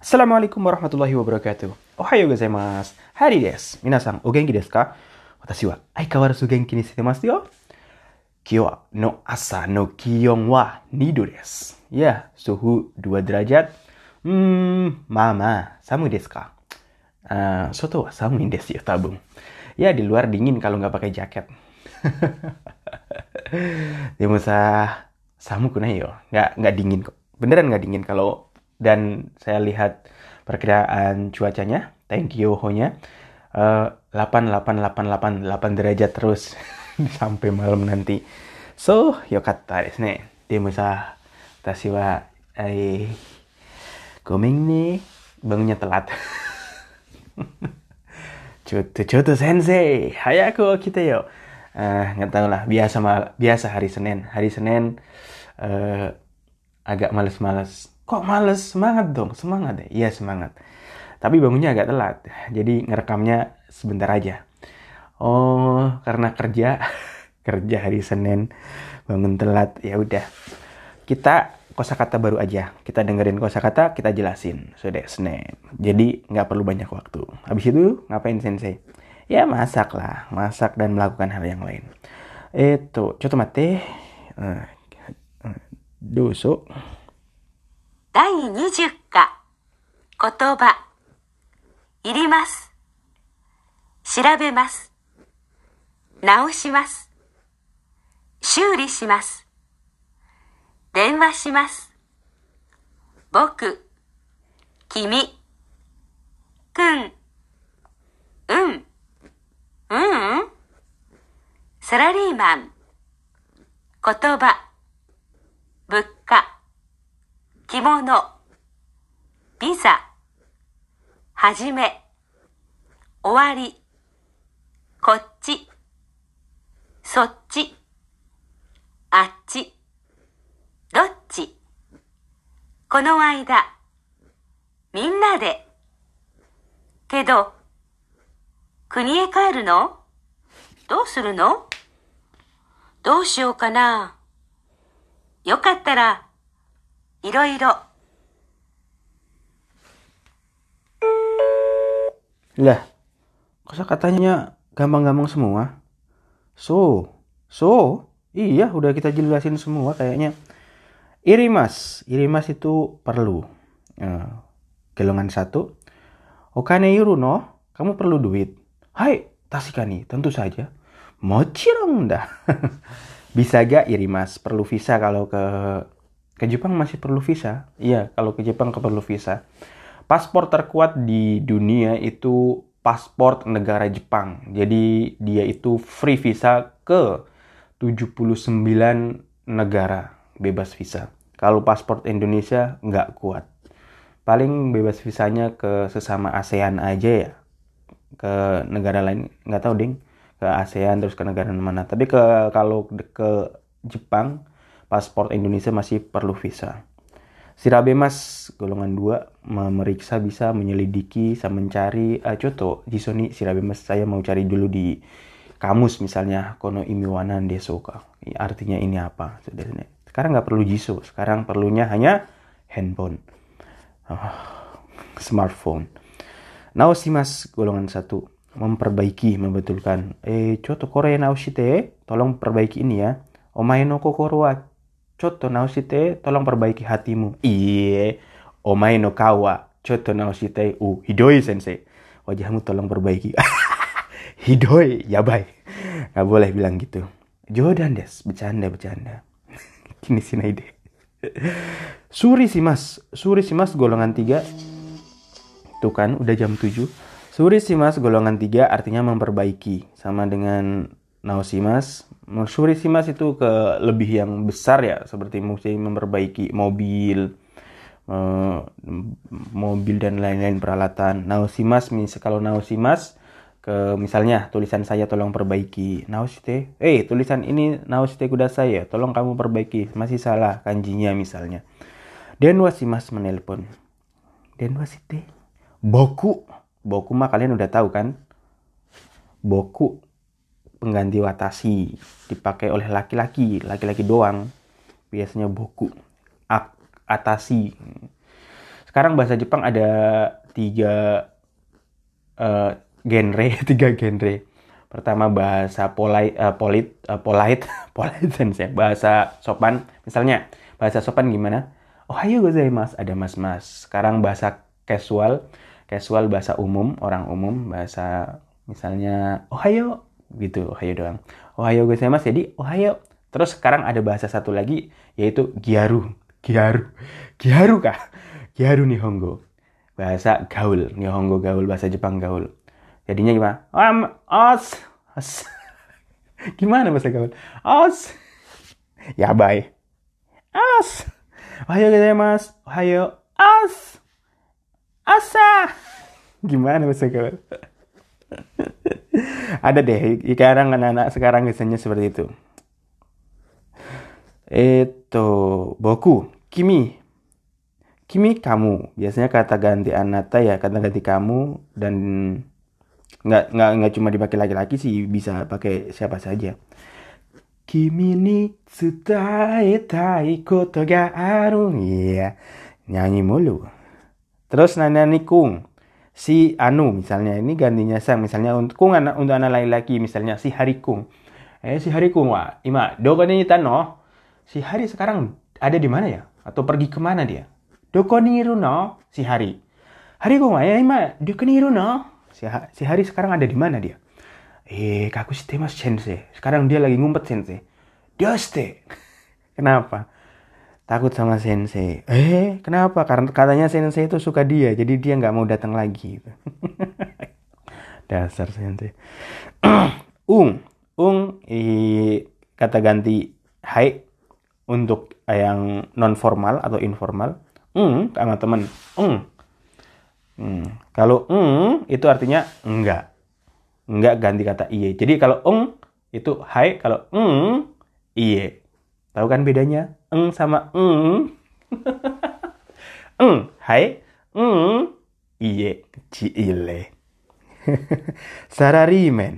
Assalamualaikum warahmatullahi wabarakatuh. Ohayo gozaimasu. Hari desu. Minasan, o genki desu ka? Watashi wa aikawarazu genki ni shitemasu yo. Kyo no asa no kion wa 2 desu. Ya, suhu 2 derajat. Mama, samu desu ka? Soto wa samuin desu yo, tabung. Ya, di luar dingin kalau nggak pakai jaket. Demosa samu kunai yo. Nggak dingin kok. Beneran nggak dingin kalau. Dan saya lihat perkiraan cuacanya, Tenkyoho-nya 8 derajat terus sampai malam nanti. So, yokatta desu ne. Demo sa, watashi wa gomen ne, bangunnya telat. Choto sensei, hayaku okite yo. Nggak tahu lah, biasa hari Senin. Hari Senin agak males-males. Kok males? Semangat dong, semangat deh. Iya semangat. Tapi bangunnya agak telat, jadi ngerekamnya sebentar aja. Oh, karena kerja hari Senin, bangun telat. Ya udah, kita kosakata baru aja. Kita dengerin kosakata, kita jelasin. Sudah Senin. Jadi nggak perlu banyak waktu. Habis itu ngapain sensei? Ya masak lah, masak dan melakukan hal yang lain. Choto matte. Doso. 第20課言葉いります調べます直します修理します電話します僕君くんサラリーマン言葉物価着物、ビザ、はじめ、終わり、こっち、そっち、あっち、どっち、この間、みんなで。けど、国へ帰るの？どうするの？どうしようかな。よかったら、いろいろ。 Lah, kosakatanya gampang-gampang semua. Iya udah kita jelasin semua kayaknya. Irimas itu perlu. Golongan 1. Okane yuru no, kamu perlu duit. Hai, tasikani, tentu saja. Mochirong dah. Bisa gak irimas, perlu visa kalau ke Jepang masih perlu visa. Iya, kalau ke Jepang perlu visa. Paspor terkuat di dunia itu paspor negara Jepang. Jadi dia itu free visa ke 79 negara bebas visa. Kalau paspor Indonesia nggak kuat. Paling bebas visanya ke sesama ASEAN aja ya. Ke negara lain nggak tahu ding. Ke ASEAN terus ke negara mana. Tapi kalau ke Jepang paspor Indonesia masih perlu visa. Shirabemas golongan 2 memeriksa bisa menyelidiki sama mencari contoh jisoni shirabemas saya mau cari dulu di kamus misalnya kono imiwanan desoka. Artinya ini apa? Sekarang nggak perlu jiso, sekarang perlunya hanya handphone. Smartphone. Naoshimas golongan 1 memperbaiki, membetulkan. Contoh Korea naoshite, tolong perbaiki ini ya. Omae no kokoro wa chotto naoshite, tolong perbaiki hatimu. Iye, omae no kao wa chotto naoshite. Hidoi sensei. Wajahmu tolong perbaiki. Hidoi, yabai. Gak boleh bilang gitu. Jodan des, bercanda. Kini sinai deh. Suri simas golongan 3. Tuh kan, udah jam 7. Suri simas golongan 3 artinya memperbaiki. Sama dengan naoshimas. Suri simas itu ke lebih yang besar ya, seperti mesti memperbaiki mobil dan lain-lain peralatan. Naoshimas, kalau naoshimas ke misalnya tulisan saya tolong perbaiki. Naoshite, tulisan ini naoshite kudasai ya, tolong kamu perbaiki, masih salah kanjinya misalnya. Denwa shimas menelpon. Denwa shite. Boku mah kalian udah tahu kan? Boku pengganti watashi, dipakai oleh laki-laki doang. Biasanya boku, atashi. Sekarang bahasa Jepang ada 3 genre, 3 genre. Pertama bahasa polite sensei, bahasa sopan. Misalnya bahasa sopan gimana? Ohayo gozaimasu, ada mas-mas. Sekarang bahasa casual bahasa umum, orang umum, bahasa misalnya ohayo gitu, ohayo doang. Ohayo gozaimasu, jadi ohayo. Terus sekarang ada bahasa satu lagi yaitu gyaru kah? Gyaru Nihongo. Bahasa gaul, Nihongo gaul, bahasa Jepang gaul. Jadinya gimana? Os. Gimana bahasa gaul? Os. Ya, bye. Os. Ohayo gozaimasu. Ohayo. Os. Asa. Gimana bahasa gaul? Ada deh, sekarang anak-anak sekarang biasanya seperti itu. Boku, kimi. Kimi, kamu. Biasanya kata ganti anata ya, kata ganti kamu, dan nggak cuma dipakai laki-laki sih, bisa pakai siapa saja. Kimi ni tsudaetai koto ga aru. Iya, nyanyi mulu. Terus nani kung. Si anu misalnya, ini gantinya sang. Misalnya untuk kung untuk anak laki-laki, misalnya si Hari kung. Si Hari kung wa ima doko ni tano. Si Hari sekarang ada di mana ya? Atau pergi kemana dia? Doko ni iru no? Si Hari. Hari kung wa ima doko ni iru no? Si Hari sekarang ada di mana dia? Kaku shitemasu sensei. Sekarang dia lagi ngumpet sensei. Doste. Kenapa? Takut sama sensei. Kenapa? Karena katanya sensei itu suka dia, jadi dia nggak mau datang lagi. Dasar sensei. Kata ganti hai untuk yang non formal atau informal. Sama teman. Kalau itu artinya enggak. Enggak ganti kata iye. Jadi kalau itu hai, kalau iye. Tahu kan bedanya? Sama hai, iye, ciile. Sararimen.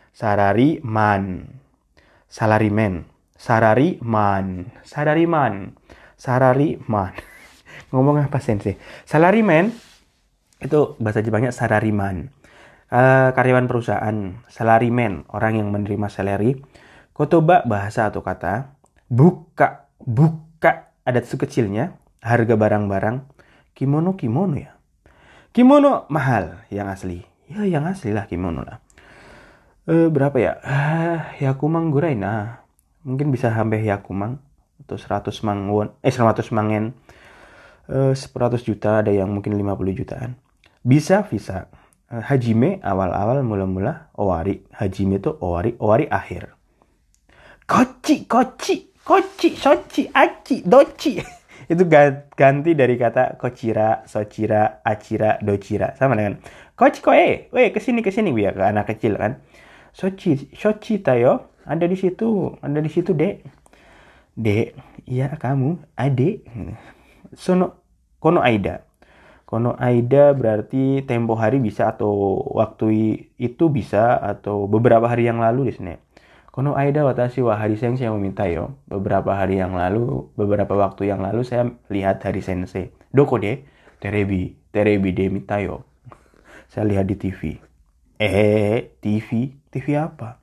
Ngomong apa sensei? Salarimen itu bahasa Jepangnya sarariman. Karyawan perusahaan. Salarimen, orang yang menerima salary. Kotoba, bahasa atau kata. Buka, ada tsu kecilnya. Harga barang-barang. Kimono ya. Kimono mahal, yang asli. Ya, yang asli lah kimono lah. Berapa ya? Yakumang gurai nah. Mungkin bisa sampai yakumang atau 100 mang won. 100 mang yen. 100 juta, ada yang mungkin 50 jutaan. Bisa. Hajime, awal-awal, mula-mula. Owari. Hajime itu owari akhir. Kochi, sochi, achi, dochi. Itu ganti dari kata kochira, sochira, achira, dochira. Sama dengan kochi koe, kesini biar ke anak kecil kan. Sochi tayo, ada di situ dek. Dek, iya kamu, adik. Kono aida berarti tempo hari bisa, atau waktu itu bisa, atau beberapa hari yang lalu di sini. Kono aida watashi wa hari sensei o mitayo. Beberapa waktu yang lalu saya lihat hari sensei. Doko de? Terebi de mitayo. Saya lihat di TV. TV apa?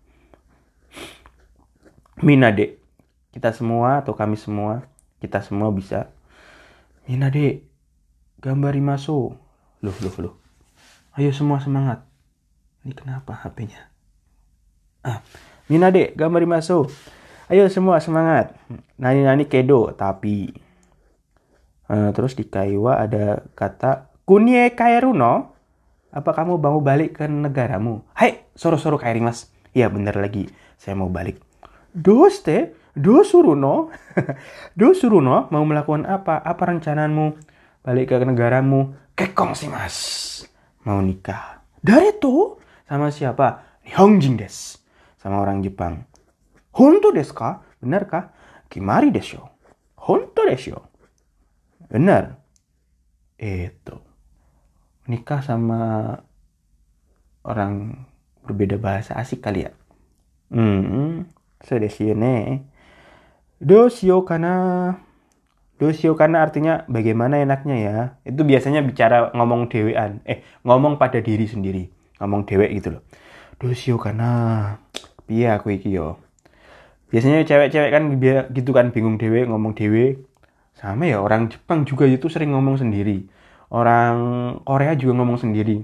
Minade. Kita semua atau kami semua, kita semua bisa. Minade, gambarimasu. Loh. Ayo semua semangat. Ini kenapa HP-nya? Minade, gambarimasu. Ayo semua semangat. Nani kedo, tapi. Terus di Kaiwa ada kata kunie kaeru no? Apa kamu mau balik ke negaramu? Hai, soro kaerimasu. Iya, benar lagi. Saya mau balik. Doste? Dosuru no? Dosuru no? Mau melakukan apa? Apa rencanamu? Balik ke negaramu? Kekong sih, Mas. Mau nikah. Dareto? Sama siapa? Nihonjin desu. Sama orang Jepang. Honto desu ka? Benarkah? Kimari desu. Honto desu. Benar. Itu. Nikah sama orang berbeda bahasa, asik kali ya. So desu ne. Dosyo kana. Dosyo kana artinya bagaimana enaknya ya. Itu biasanya bicara ngomong dewean. Ngomong pada diri sendiri. Ngomong dewek gitu loh. Dosyo kana. Piye aku iki yo. Biasanya cewek-cewek kan gitu kan, bingung dewe, ngomong dewe. Sama ya, orang Jepang juga itu sering ngomong sendiri. Orang Korea juga ngomong sendiri.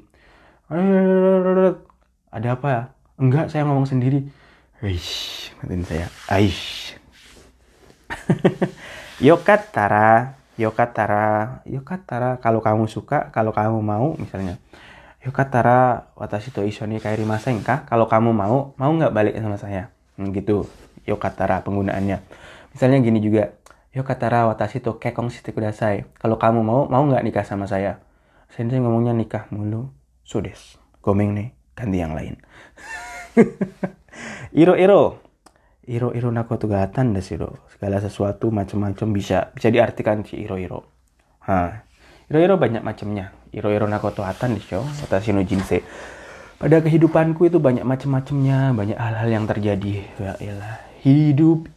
Ada apa? Enggak, saya ngomong sendiri. Aish, matiin saya. Aish. Yokatara. Kalau kamu suka, kalau kamu mau, misalnya. Yokatara, watashi to issho ni kaerimasen ka? Kalau kamu mau nggak balik sama saya? Gitu. Yokatara penggunaannya. Misalnya gini juga. Yokatara, watashi to kekkon shite kudasai. Kalau kamu mau nggak nikah sama saya? Sensei ngomongnya nikah mulu. So desu. Gomeng nih, ganti yang lain. Iro nakoto ga atan desu. Segala sesuatu macam-macam bisa diartikan si iro. Iro banyak macamnya. Iro nakoto atan desu. Watashi no jinsei. Pada kehidupanku itu banyak macam-macamnya, banyak hal-hal yang terjadi. Ya elah, hidup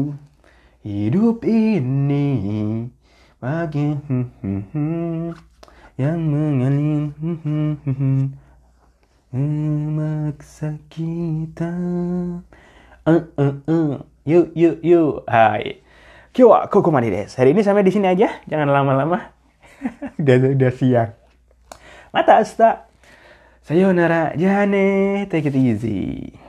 ini bagi yang mengalir memaksa kita. Yuk. Hai. Kyo wa kokomade desu. Hari ini sampai di sini aja, jangan lama-lama. udah siang. Mata asta. Sayonara, jane, take it easy.